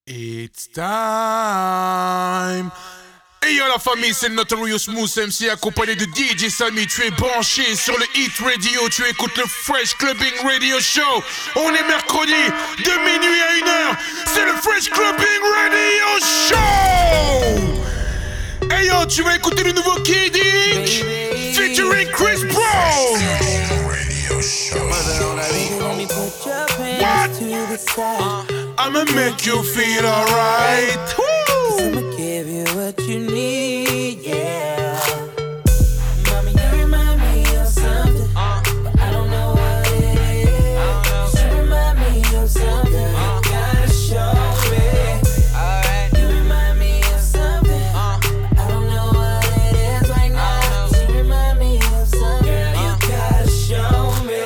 It's time. Et yo la famille, c'est Notorious Mousse MC accompagné de DJ Samy. Tu es branché sur le Hit Radio, tu écoutes le Fresh Clubbing Radio Show. On est mercredi de minuit à 1h. C'est le Fresh Clubbing Radio Show. Et yo, tu vas écouter le nouveau Kid Ink featuring Chris Brown. What? I'ma make you feel alright. I'ma give you what you need, yeah. Mommy, you remind me of something, but I don't know what it is. You remind me of something, you gotta show me. You remind me of something, I don't know what it is right now. You remind me of something, girl, you gotta show me.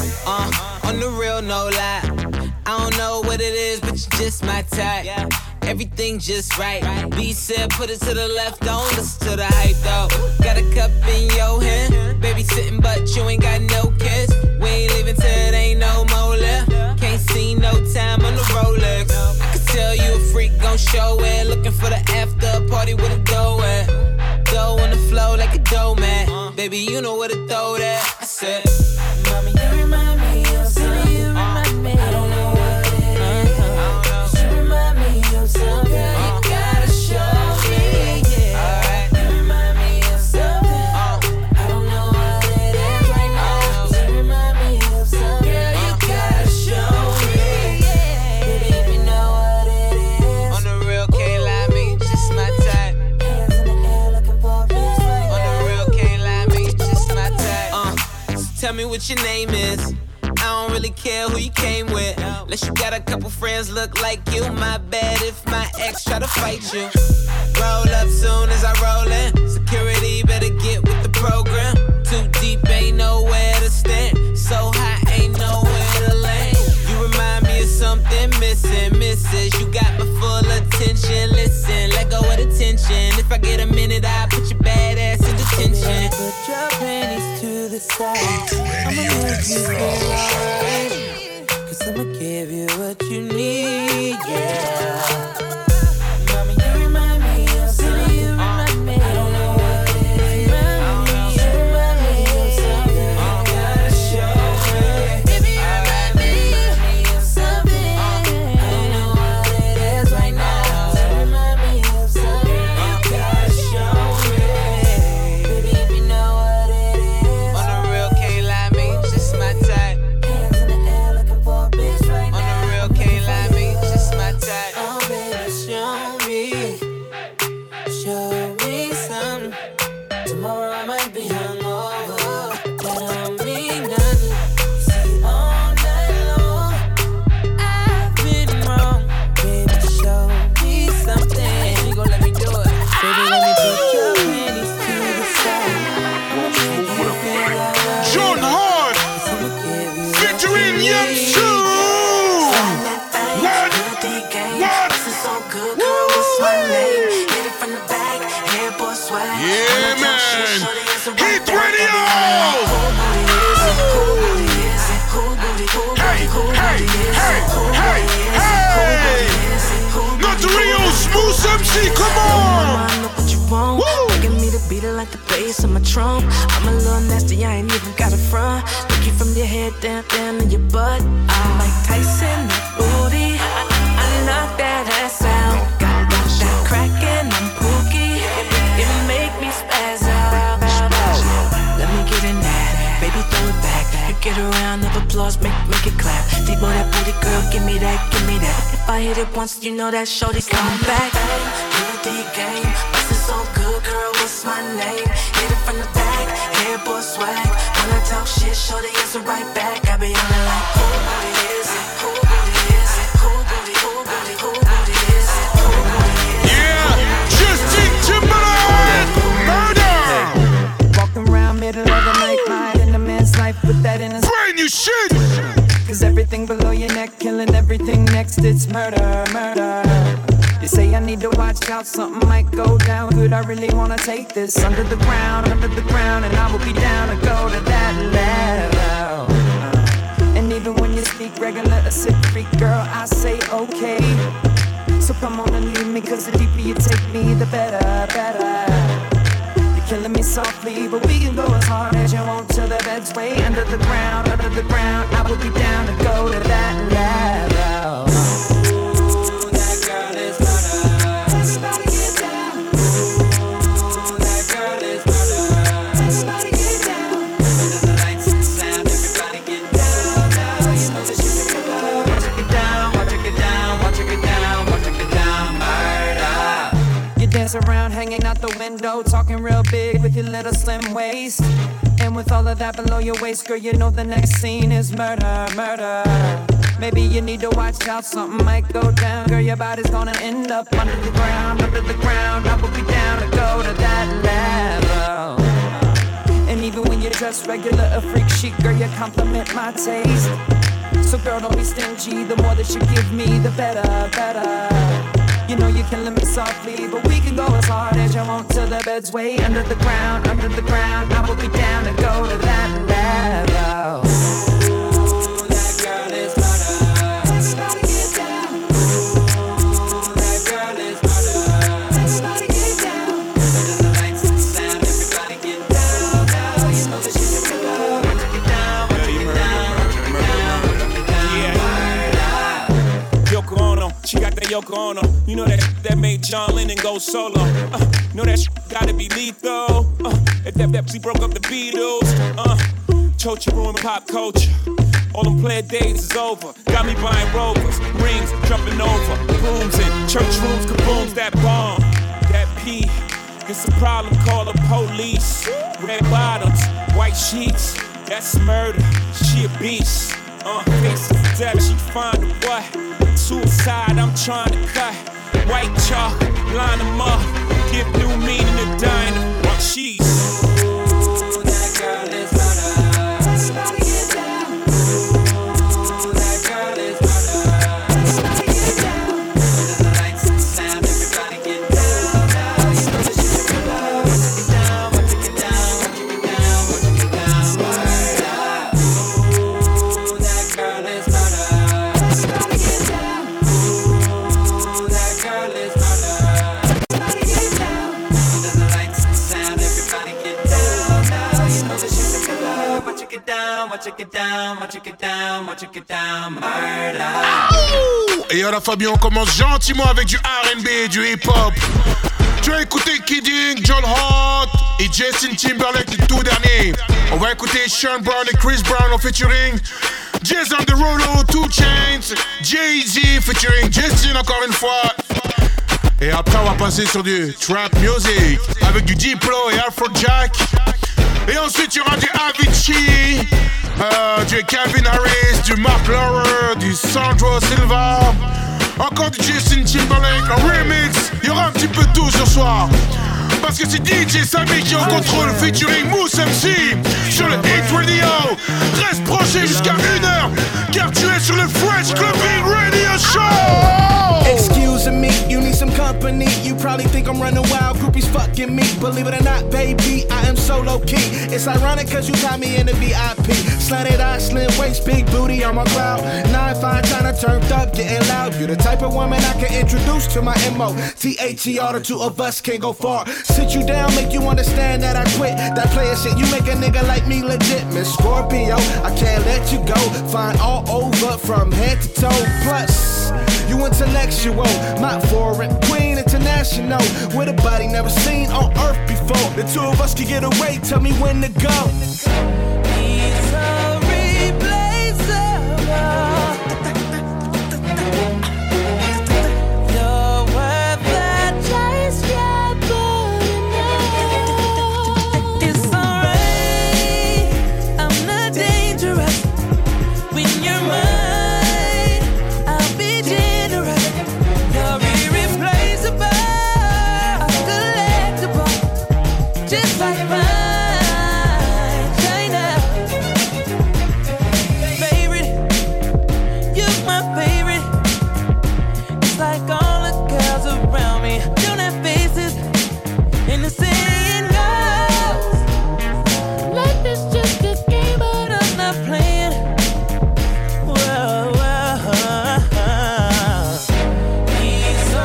On the real, no lie. I don't know what it is, but you're just my type. Everything just right. B said put it to the left, don't listen to the hype though. Got a cup in your hand, baby sitting but you ain't got no kiss. We ain't leaving till it ain't no more left. Can't see no time on the Rolex. I can tell you a freak gon' show it. Looking for the after party with a dough at. Dough on the flow like a dough man. Baby you know where to throw that. I said, mommy you remind me of something. You remind me. I don't know what it is. You remind me of something. You gotta show me. Yeah. You remind me of something. I don't know what it is right now. You remind me of something. Girl, you gotta show me. Baby, if you know what it is. on the real, can't lie, me just my type. Hands in the air looking for a piece right On the now. real, can't lie, me just my type. So tell me what your name is. I don't really care who you came with. Unless you got a couple friends look like you. My bad if my ex try to fight you. Roll up soon as I roll in. Security better get with the program. Too deep, ain't nowhere to stand. So high, ain't nowhere to land. You remind me of something missing, missus. You got my full attention. Listen, let go of the tension. If I get a minute, I'll put your bad ass in detention. Put your panties to the side. I'ma make you feel alright. Cause I'ma give you what you need, yeah. Mommy, you remind me of something. You remind me. I don't know what it is. You remind me of something. You gotta show me. Baby, you remind me of something. I don't know what it is right now. You remind me of something. You gotta show me. Baby, if you know what it is. On the real, can't lie, me just my type. Hands in the air looking for a bitch right now. On the real, can't lie, me just my type. Oh, baby, show me something. Tomorrow I might be hungover, but I don't mean nothing. See, all night long, I've been wrong. Baby, show me something. You gon' let me do it. Baby, let me put your panties to the side. I'ma make you feel alright. John Hart I'ma give you featuring Young Sue. What? Yeah, man. Hit Radio. Hey, hey, hey, hey, hey. Notorious Mousse MC, come on. Look what you want. Woo. Give me the beat like the bass on my trunk. I'm a little nasty, I ain't even got a front. Look you from your head down to your butt. I'm like Tyson, that booty. I knock that ass out. Got that crackin', I'm pookie. It make me spaz out. Let me get in that, baby, throw it back. You get a round of applause, make it clap. Deep on that booty, girl, give me that, give me that. If I hit it once, you know that shorty's coming back. You the game, bustin' so good, girl, what's my name? Hit it from the back, hair boy swag. When I talk shit, shorty answer right back. I be on it like, who booty is it? Who booty is it? Who booty, who booty, who booty is it? Who booty is it? Yeah, Justin Timberlake. Murder. Walking around middle of the night, mind in a man's life with that in his. Brand new shit. Cause everything below your neck, killing everything next, it's murder, murder. They say I need to watch out, something might go down. Could I really wanna take this under the ground, and I will be down to go to that level. And even when you speak regular, a sick freak girl, I say okay. So come on and leave me, cause the deeper you take me, the better, better. You're killing me softly, but we can go as hard as you want till the bed's way under the ground, under the ground. I would be down to go to that level. Ooh, that girl is murder. Somebody get down. Ooh, that girl is murder. Somebody get down. Under the lights and sound, everybody get down. Now you know that she's a killer. Watch her get down, watch her get down, watch her get down, watch her get down, murder. You dance around, hanging out the window, talking real big with your little slim waist. And with all of that below your waist, girl, you know the next scene is murder, murder. Maybe you need to watch out, something might go down. Girl, your body's gonna end up under the ground, under the ground. I will be down to go to that level. And even when you're dressed regular, a freak chic, girl, you compliment my taste. So girl, don't be stingy, the more that you give me, the better, better. You know you're killing me softly, but we can go as hard as you want till the bed's way under the ground, under the ground. I will be down to go to that level. Ooh, that girl is murder. Somebody get down. Ooh, that girl is murder. Somebody get down. Under the lights and sound, everybody get down. Now you know that she's a killer. Want to get down, want to get down, want to get down, want to get down. Yoko Ono, she got that Yoko Ono. You know that made John Lennon go solo. Know that gotta be lethal. If that Pepsi broke up the Beatles. Chocha ruined pop culture. All them player days is over. Got me buying Rovers, rings, jumping over, booms in church rooms, kabooms. That bomb, that P. It's a problem. Call the police. Red bottoms, white sheets. That's murder. She a beast. Face of death, she find a what? Suicide, I'm trying to cut. White chalk, line them up. Give new meaning to dying of what she's. Ooh, that girl is murder. Somebody get down. Ooh, that girl is murder. Somebody get down. Under the lights and sound, everybody get down. Now you know that she's a killer. Want to get down, want to get down, want to get down, want to get down, murder. Ooh, that girl is murder. Somebody get down. Ooh, that girl is murder. Somebody get down. Under the lights and sound, everybody get down. Now you know that she's a killer. Watch her get down, watch her get down, watch her get down, watch her get down, murder. Et à la Fabien, on commence gentiment avec du R&B et du hip-hop. Tu as écouté Kidding, John Hart et Justin Timberlake, le tout dernier. On va écouter Sean Brown et Chris Brown en featuring Jason Derulo, 2 Chainz, Jay-Z featuring Justin encore une fois. Et après on va passer sur du trap music avec du Diplo et Afrojack. Et ensuite il y aura du Avicii, du Calvin Harris, du Mark Lawrence, du Sandro Silva, encore du Justin Timberlake, un remix. Il y aura un petit peu de tout ce soir. Parce que c'est DJ Samy qui est en contrôle featuring Mousse MC sur le Hit Radio. Reste branché jusqu'à 1h car tu es sur le Fresh Clubbing Radio Show. Excuse me, you need some company. You probably think I'm running wild, groupies fucking me. Believe it or not, baby, I am so low key. It's ironic cause you got me in the VIP. Slanted eyes, slim waist, big booty on my cloud. 9-5 tryna turned up, getting loud. You the type of woman I can introduce to my MO. THER, the two of us can't go far. Sit you down, make you understand that I quit that player shit. You make a nigga like me legit, Miss Scorpio. I can't let you go. Fine all over from head to toe. Plus, you intellectual, not foreign, queen international. With a body never seen on earth before. The two of us can get away. Tell me when to go. He's irreplaceable. You're worth the chase, yeah, but enough. It's alright, I'm not dangerous. When you're mine, I'll be generous. You're irreplaceable, collectible, just like mine. China, favorite, you're my favorite. It's like all the girls around me don't have faces, and the saying goes, life is just a game, but I'm not playing. Whoa, whoa. He's so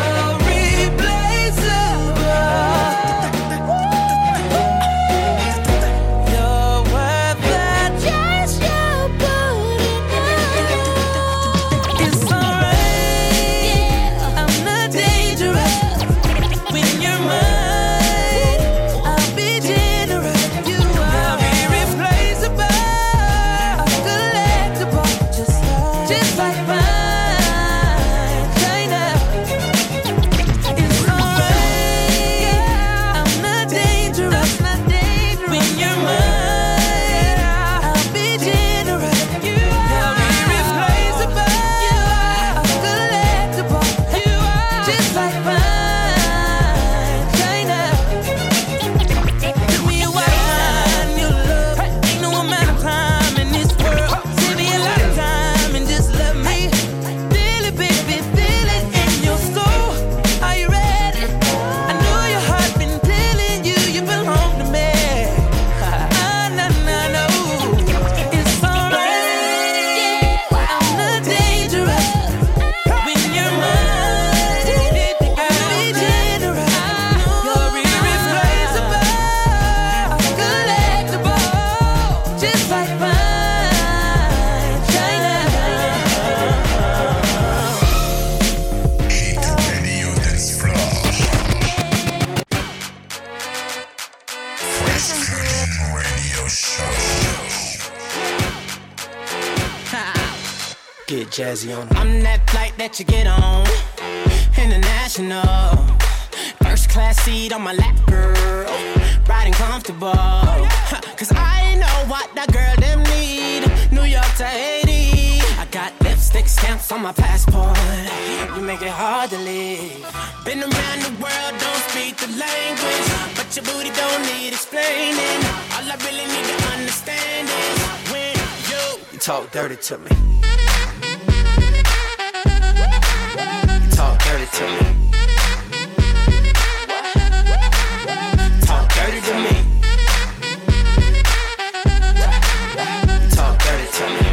jazzy on. I'm that flight that you get on, international. First class seat on my lap, girl, riding comfortable. Cause I know what that girl them need. New York to Haiti, I got lipstick stamps on my passport. You make it hard to leave. Been around the world, don't speak the language, but your booty don't need explaining. All I really need to understand is when you talk dirty to me. You talk dirty to me. Talk dirty to me. Talk dirty to me.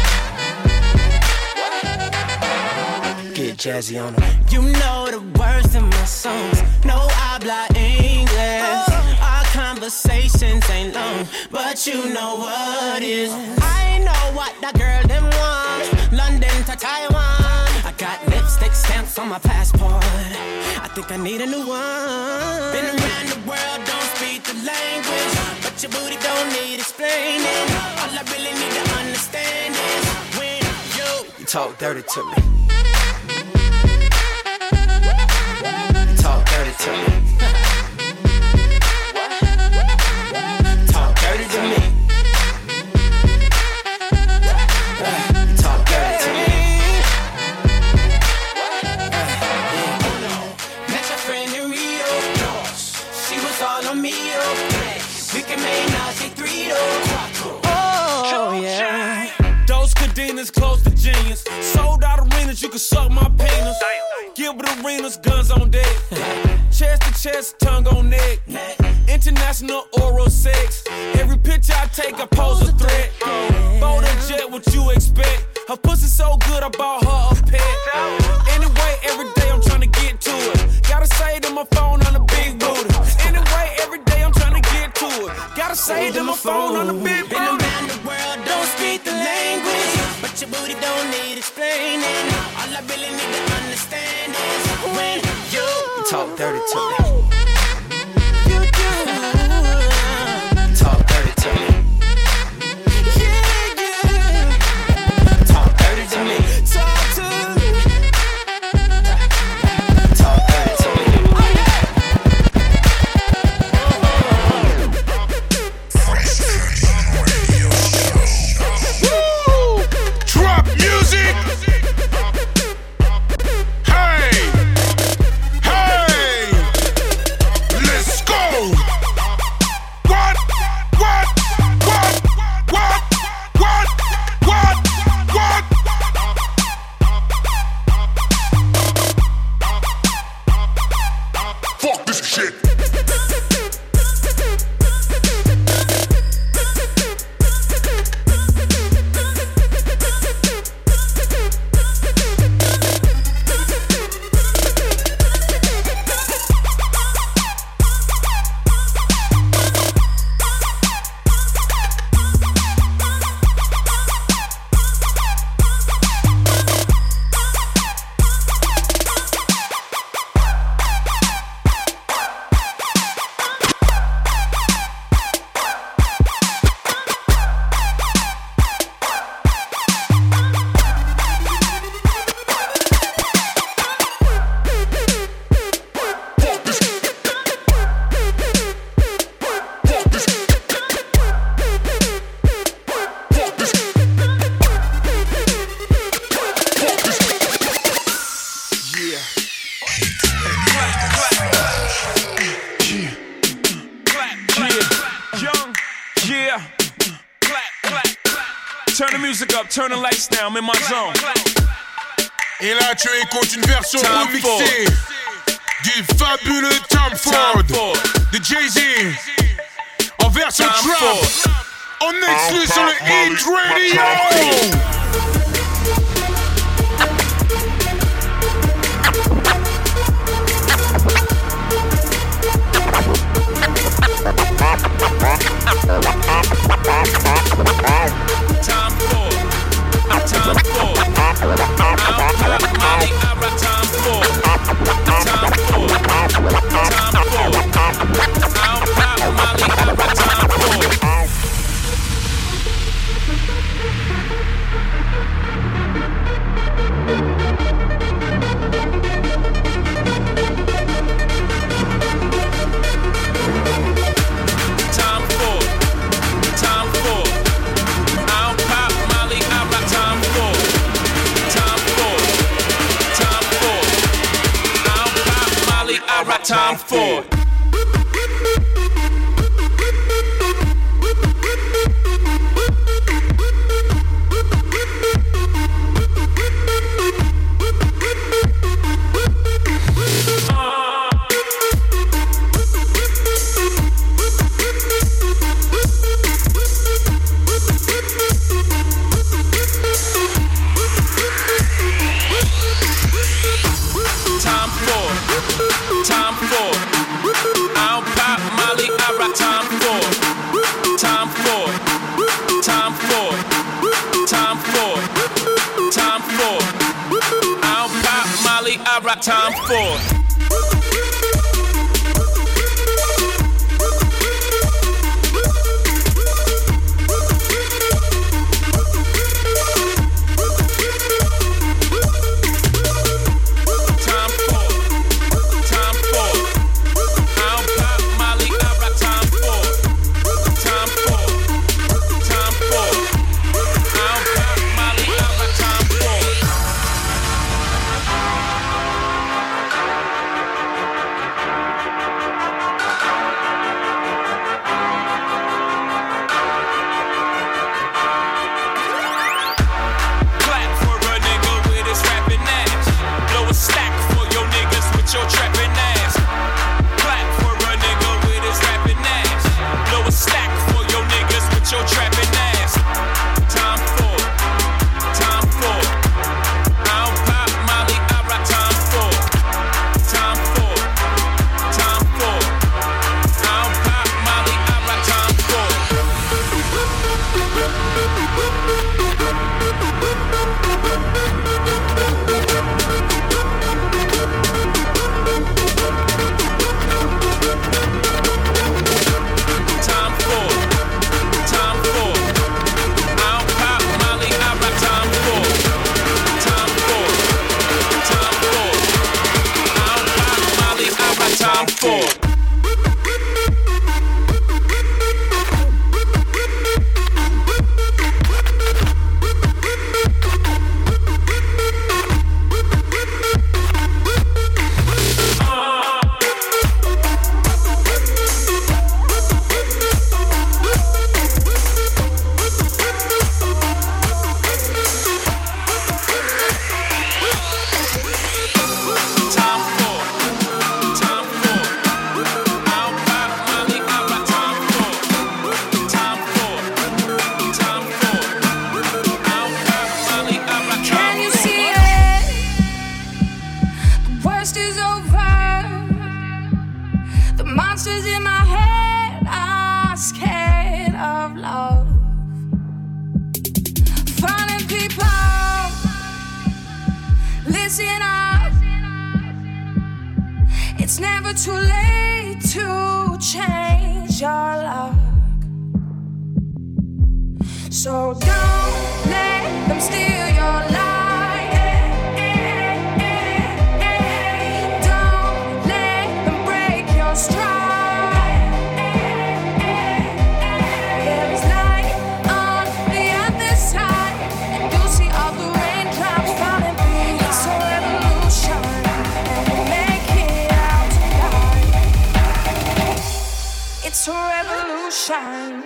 Get jazzy on them. You know the words in my songs. No habla English. Our conversations ain't long, but you know what is. I know what that girl them want. London to Taiwan. I got lipstick stamps on my passport. I think I need a new one. Been around the world, don't speak the language, but your booty don't need explaining. All I really need to understand is when you talk dirty to me. You talk dirty to me. Talk dirty to me. Talk dirty to me. Met your friend in Rio. She was all on me. We can make Nazi 3 Oh yeah. Those cadenas close to genius. Sold out arenas, you can suck my penis. Gilbert Arenas, guns on deck. Chest to chest, tongue on neck. International oral sex. Every picture I take, I pose a threat. Bold and jet, what you expect? Her pussy so good, I bought her a pet. Anyway, every day I'm trying to get to it. Gotta say to my phone on the big booty. Anyway, every day I'm trying to get to it. Gotta say to my phone on the big booty. Been around the world, don't speak the language, but your booty don't need explaining. All I really need to understand is when you talk dirty to me. You do. Talk dirty to me. Yeah, yeah. Talk dirty to me. Talk to me. Talk dirty to me. Drop music. Hey, hey, let's go. What? Fuck this shit. Turn the music up, turn the lights down, I'm in my zone. Et là, tu écoutes une version remixée du fabuleux Tom Ford de Jay-Z en version trap. En exclu sur le Hit Radio. I rock Tom Ford. I rock Tom Ford. It's never too late to change your luck. So don't let them steal your life. Don't let them break your stride. There is light on the other side, and you'll see all the raindrops falling. It's a revolution, and we'll make it out tonight. It's a revolution.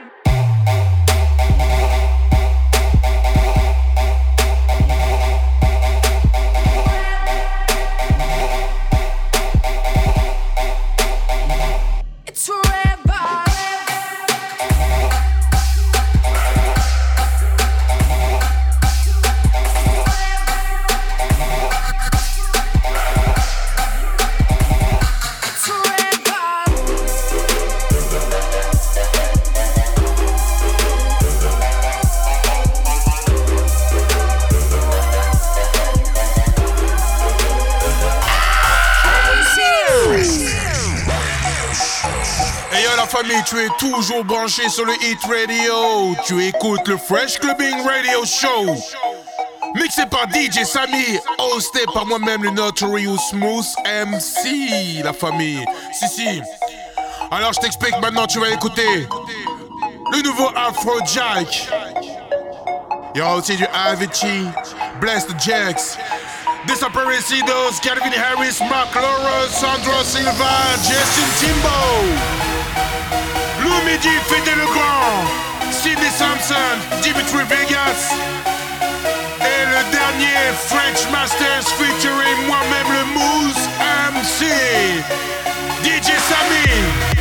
Famille, tu es toujours branché sur le Hit Radio. Tu écoutes le Fresh Clubbing Radio Show. Mixé par DJ Samy, hosté par moi-même, le Notorious Smooth MC, la famille. Si. Alors je t'explique maintenant, tu vas écouter le nouveau Afrojack. Il y aura aussi du Avicii, Blessed Jax. Desaparecidos, Calvin Harris, Mark Lawrence, Sandro Silva, Justin Timbo. Lumidi, Fede Legrand, Sidney Sampson, Dimitri Vegas. Et le dernier, French Masters featuring moi-même le Moose MC, DJ Samy.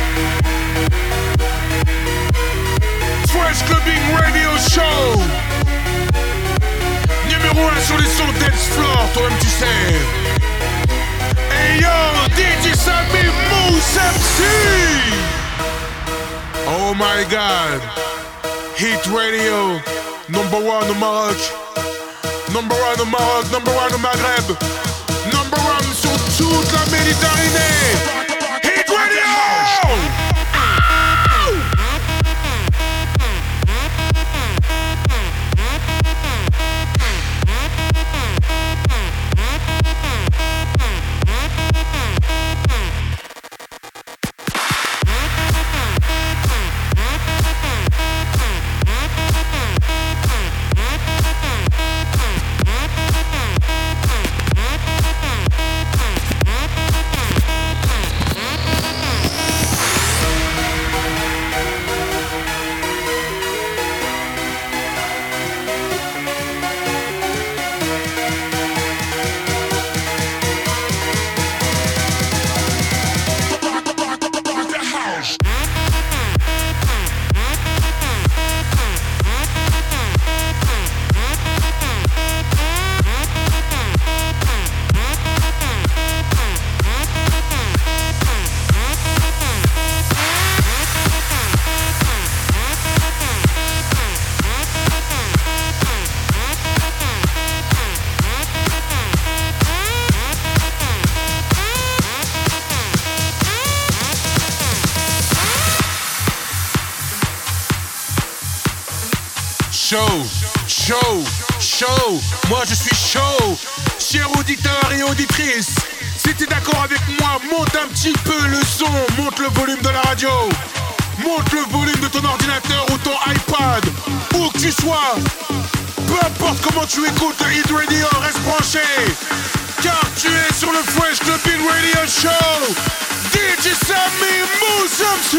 Fresh Clubbing Radio Show. Numéro 1 sur les sons dance floor, toi-même tu sais. Hey yo, DJ Samy, Moose MC. Oh my God. Hit Radio, number 1 au Maroc. Number 1 au Maroc, number 1 au Maghreb. Number 1 sur toute la Méditerranée. Hit Radio! Chaud, moi je suis chaud. Chers auditeurs et auditrices, si t'es d'accord avec moi, monte un petit peu le son, monte le volume de la radio, monte le volume de ton ordinateur ou ton iPad, où que tu sois. Peu importe comment tu écoutes le Hit Radio, reste branché, car tu es sur le Fresh Clubbing Radio Show. DJ Samy, Moose MC.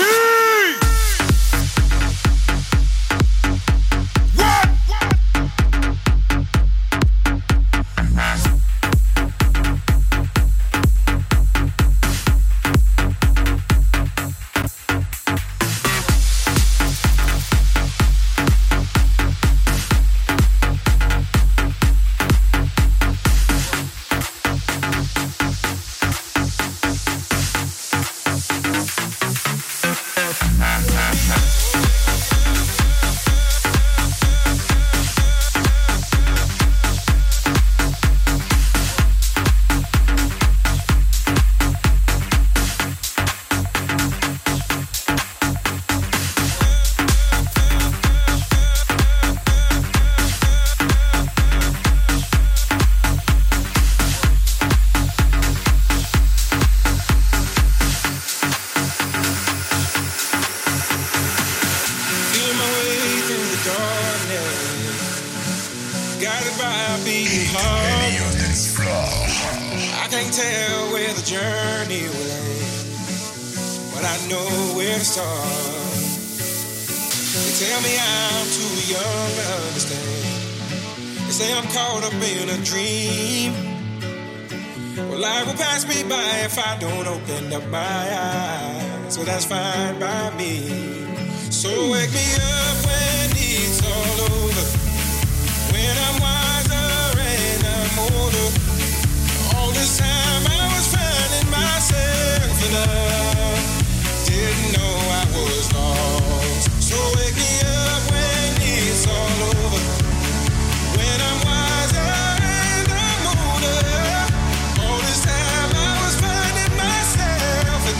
If I don't open up my eyes, so that's fine by me. So wake me up when it's all over, when I'm wiser and I'm older. All this time I was finding myself in love, didn't know I was lost. So wake me up when it's all over, when I'm wiser and I'm older. All this time I was finding myself and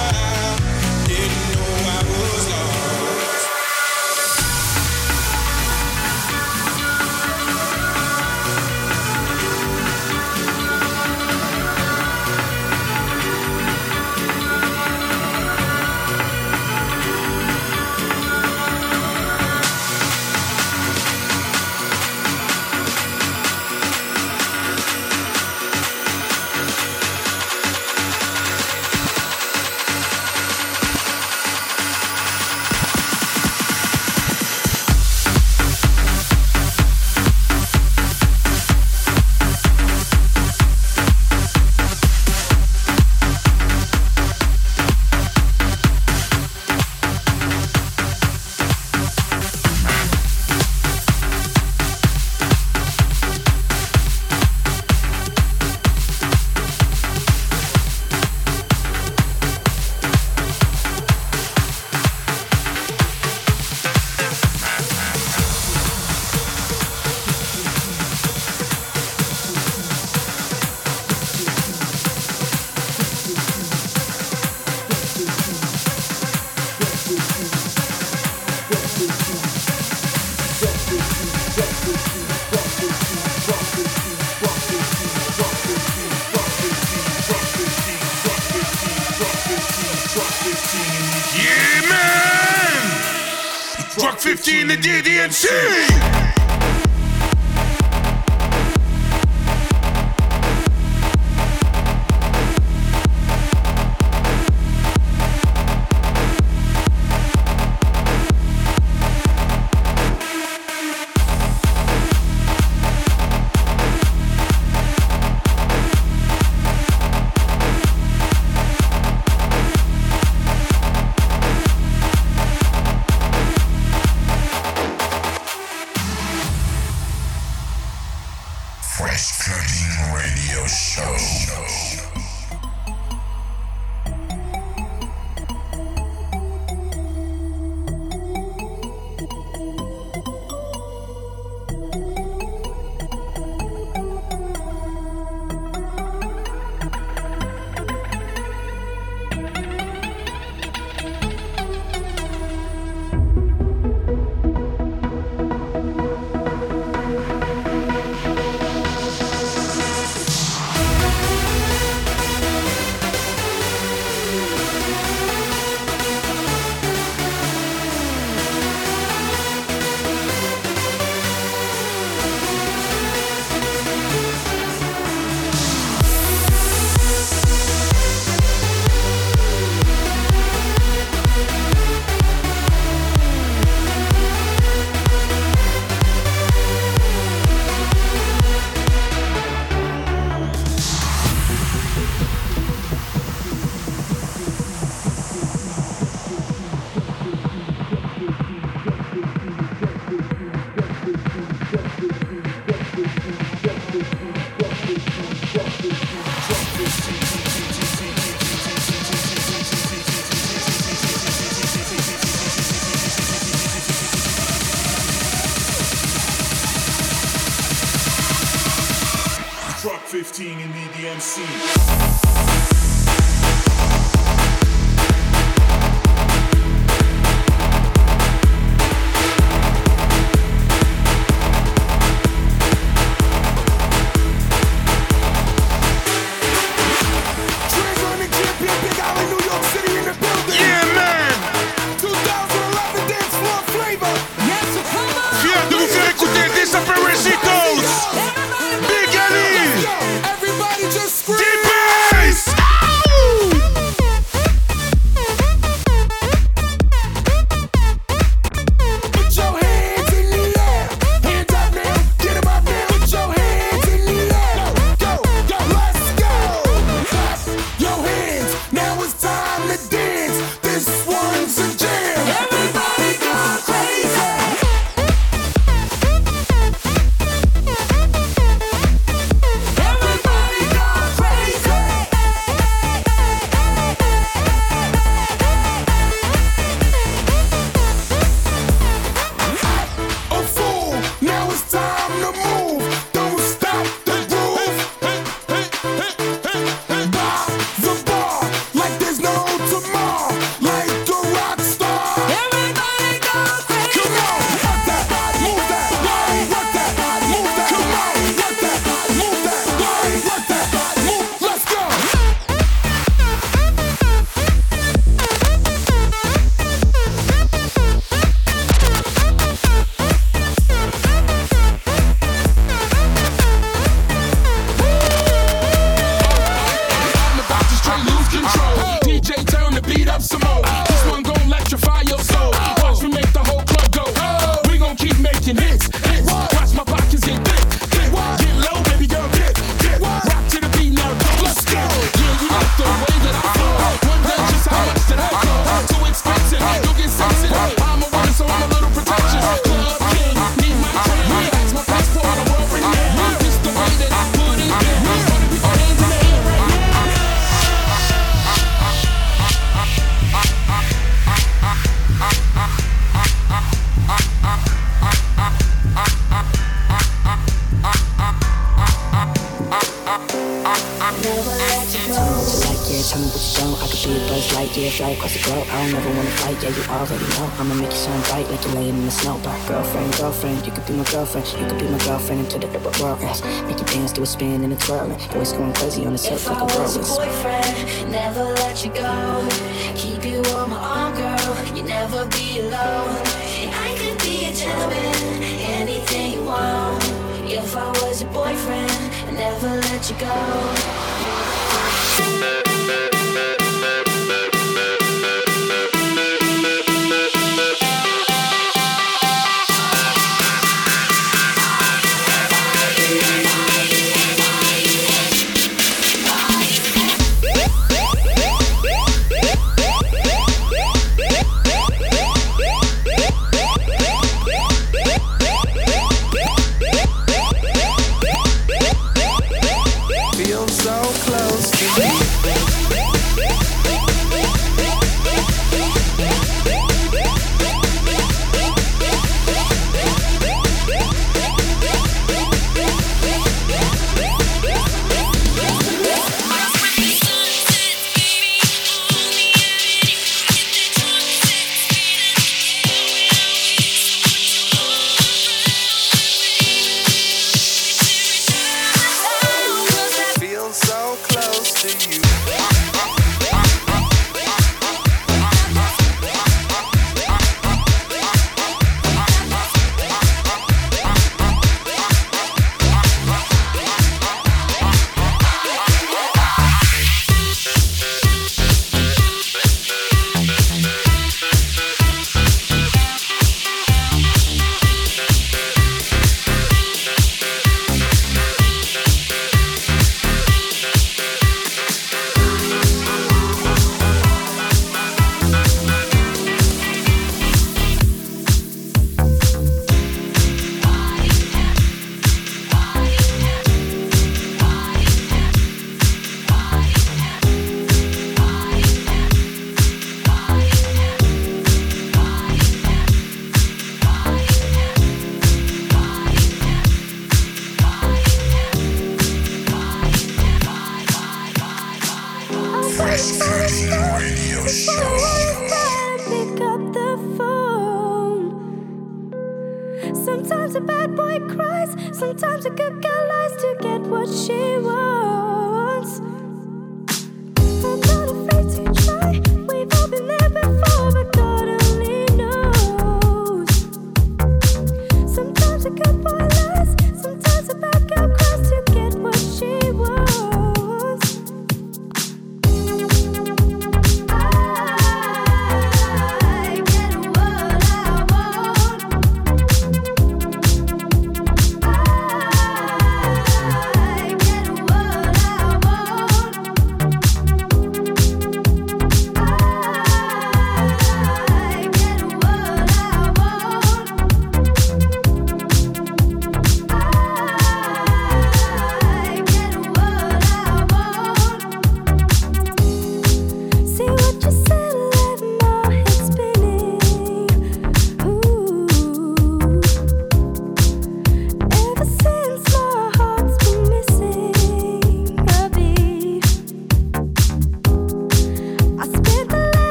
I didn't know I was lost. Yeah, man! Drop 15 the DDNC! Drop 15 in the DMC. Spin and a twirling, voice going crazy on the surf like a whirlwind. Boyfriend, never let let you go. Keep you on my arm, girl, you never be alone. And I could be a gentleman, anything you want. If I was your boyfriend, I'd never let you go. Sometimes a bad boy cries, sometimes a good girl lies to get what she wants. I'm not afraid to try, we've all been there before, but God only knows. Sometimes a good boy lies, sometimes a bad girl cries to get what she wants. I get what I want.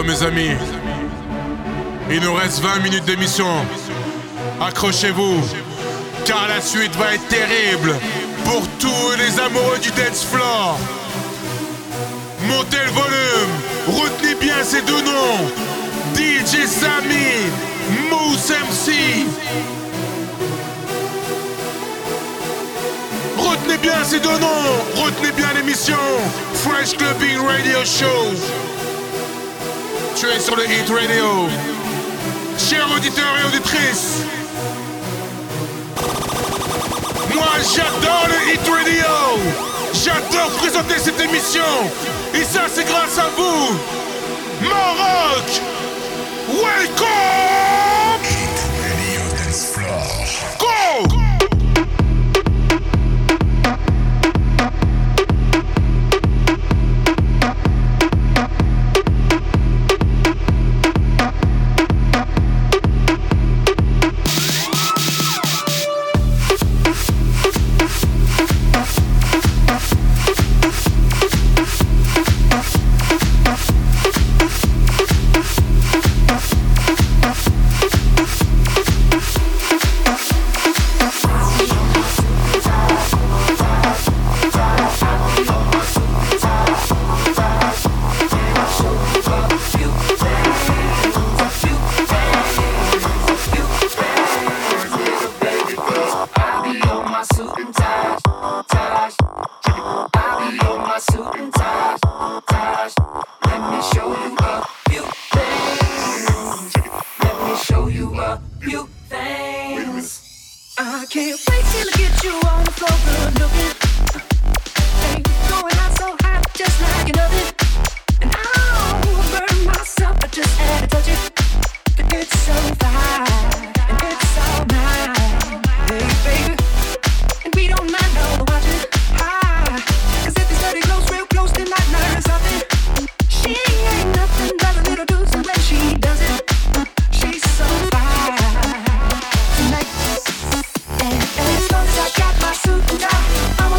go mes amis. Il nous reste 20 minutes d'émission. Accrochez-vous, car la suite va être terrible pour tous les amoureux du dance floor. Montez le volume, retenez bien ces deux noms. DJ Samy, Mousse MC. Retenez bien ces deux noms, retenez bien l'émission Fresh Clubbing Radio Show. Tu es sur le Hit Radio. Chers auditeurs et auditrices, moi j'adore le Hit Radio. J'adore présenter cette émission. Et ça c'est grâce à vous. Maroc, welcome. Hit Radio Dance Floor. Go. I got my suit and tie.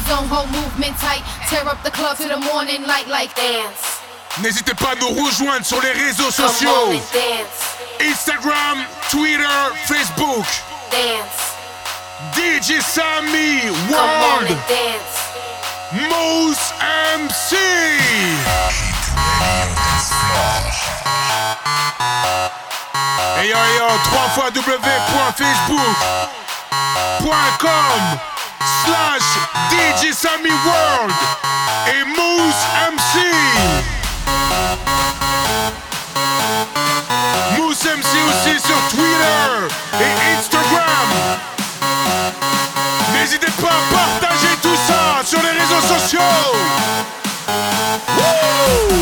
zone, whole movement tight. Tear up the club to the morning light like dance. N'hésitez pas à nous rejoindre sur les réseaux sociaux. Instagram, Twitter, Facebook. Dance. DJ Sammy World. Mousse MC. Et yo, 3 fois www.facebook.com/DJ Sammy World et Mousse MC. Mousse MC aussi sur Twitter et Instagram. N'hésitez pas à partager tout ça sur les réseaux sociaux. Woo!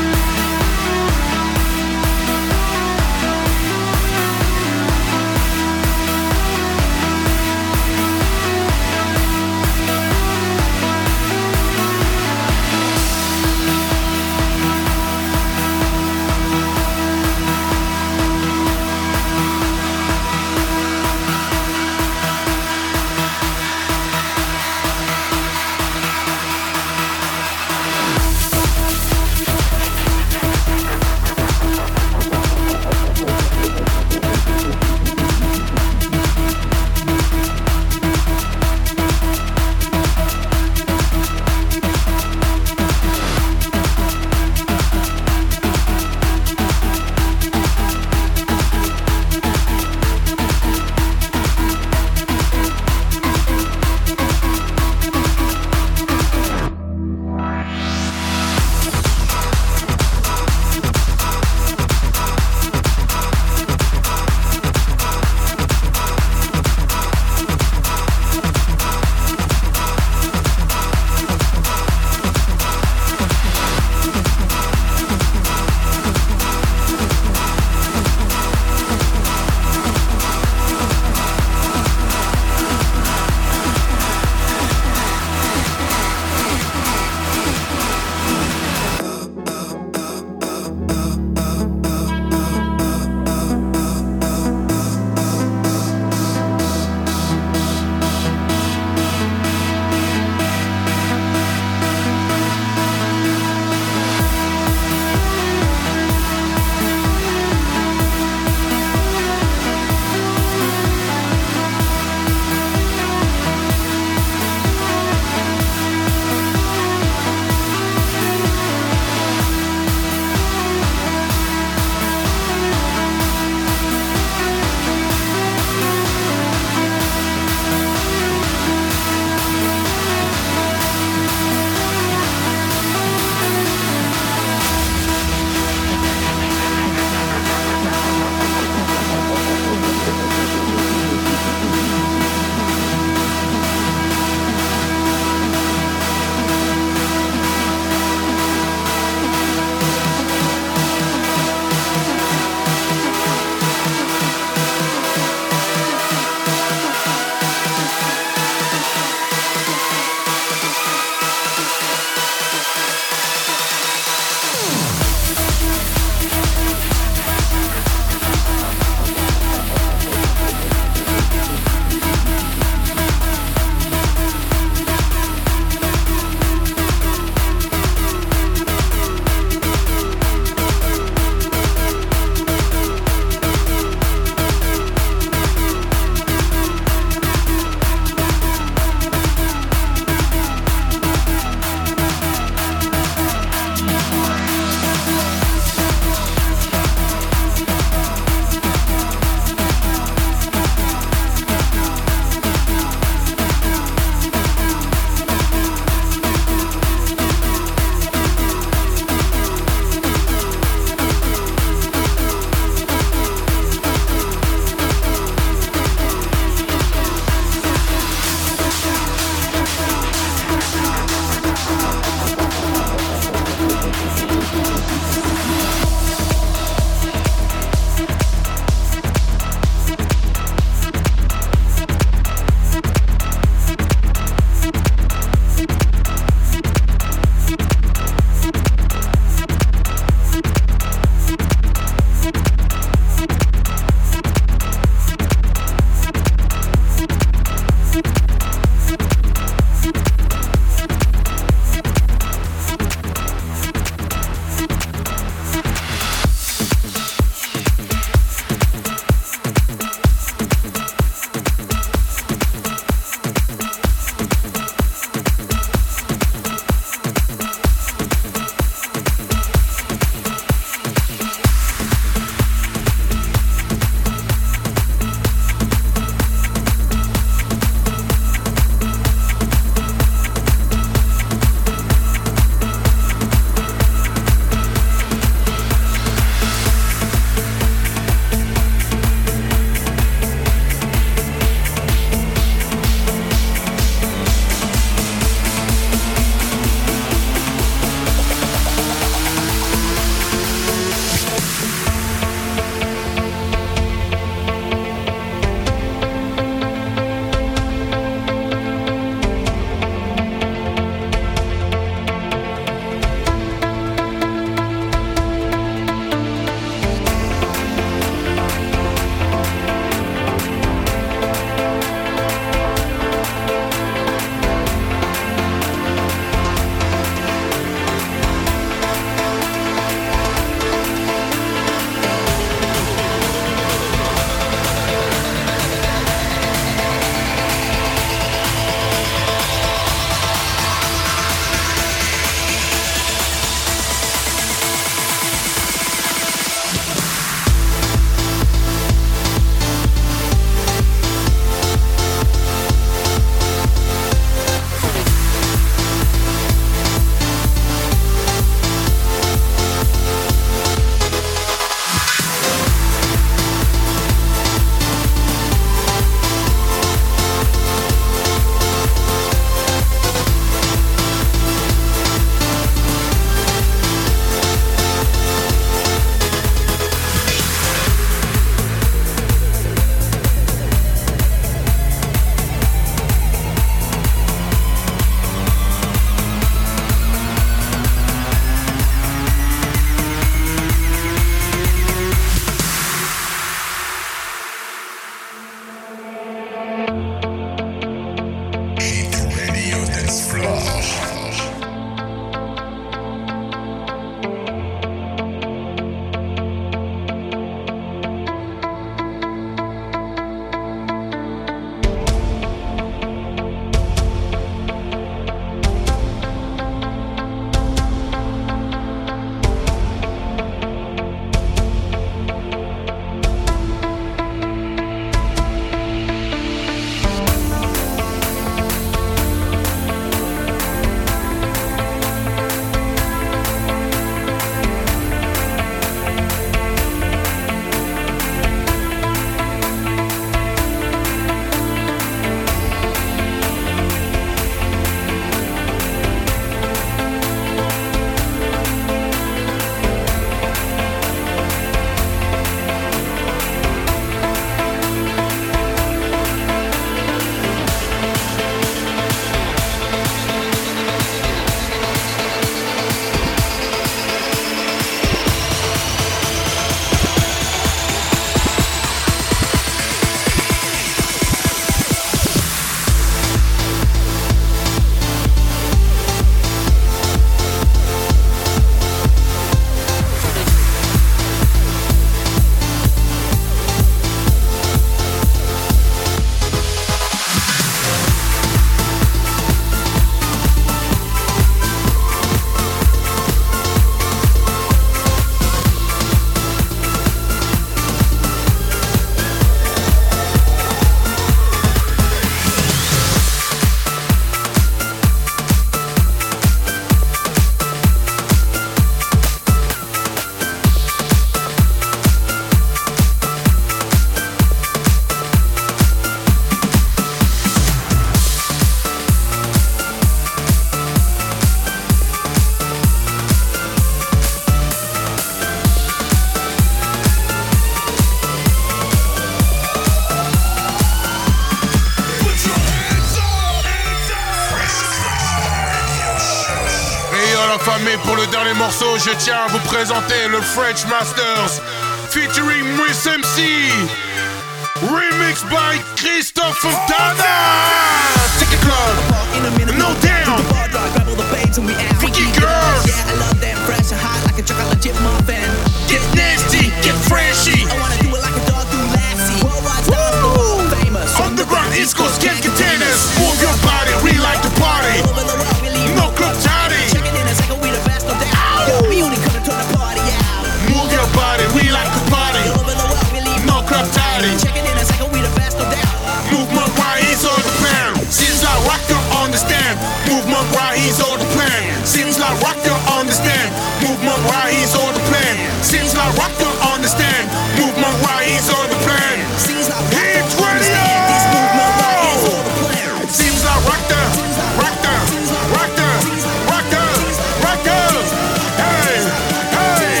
famille, pour le dernier morceau, je tiens à vous présenter le French Masters featuring Miss MC, remix by Christophe Fontana. Take a club, no down, freaky girls. Yeah, I love them fresh and hot like a chocolate chip muffin. Get nasty, get freshy. I wanna do it like a dog do Lassie. Worldwide stars, the world famous. Underground East Coast, get containers. Move your body, we like to party. All over the world, we leave No club toddy. Check it in a second, we the best, no doubt. Yo, we only come to turn the party out. Move your body, we like to party. All over the world, we leave No club toddy. Check it in a second, we the best, no doubt. Movement right, he's on the plan. Seems like rock you understand. Movement right, he's on the plan. Seems like rock you understand. Movement right, he's on the plan. Seems like rock you understand. Movement right, he's on the plan. Seems like Hit radio. this movement right is all the plan. Seems like rock the, rock the, rock the, rock the, rock the. Hey, hey,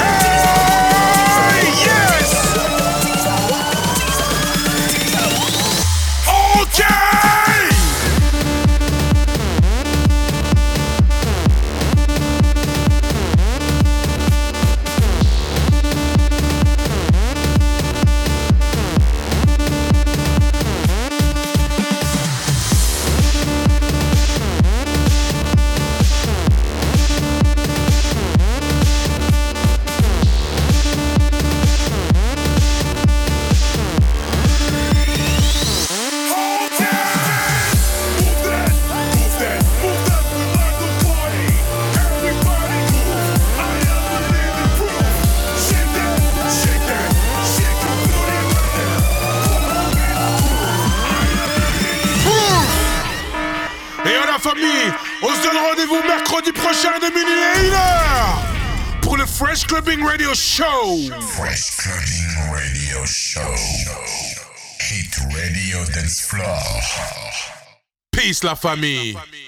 hey, yes. Okay. Famille, on se donne rendez-vous mercredi prochain de minuit à 1h pour le Fresh Clubbing Radio Show. Fresh Clubbing Radio Show. Hit Radio Dance Floor. Peace la famille.